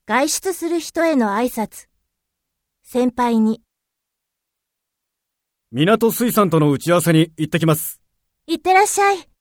外出する人への挨拶。先輩に。 港水産との打ち合わせに行ってきます。 いってらっしゃい。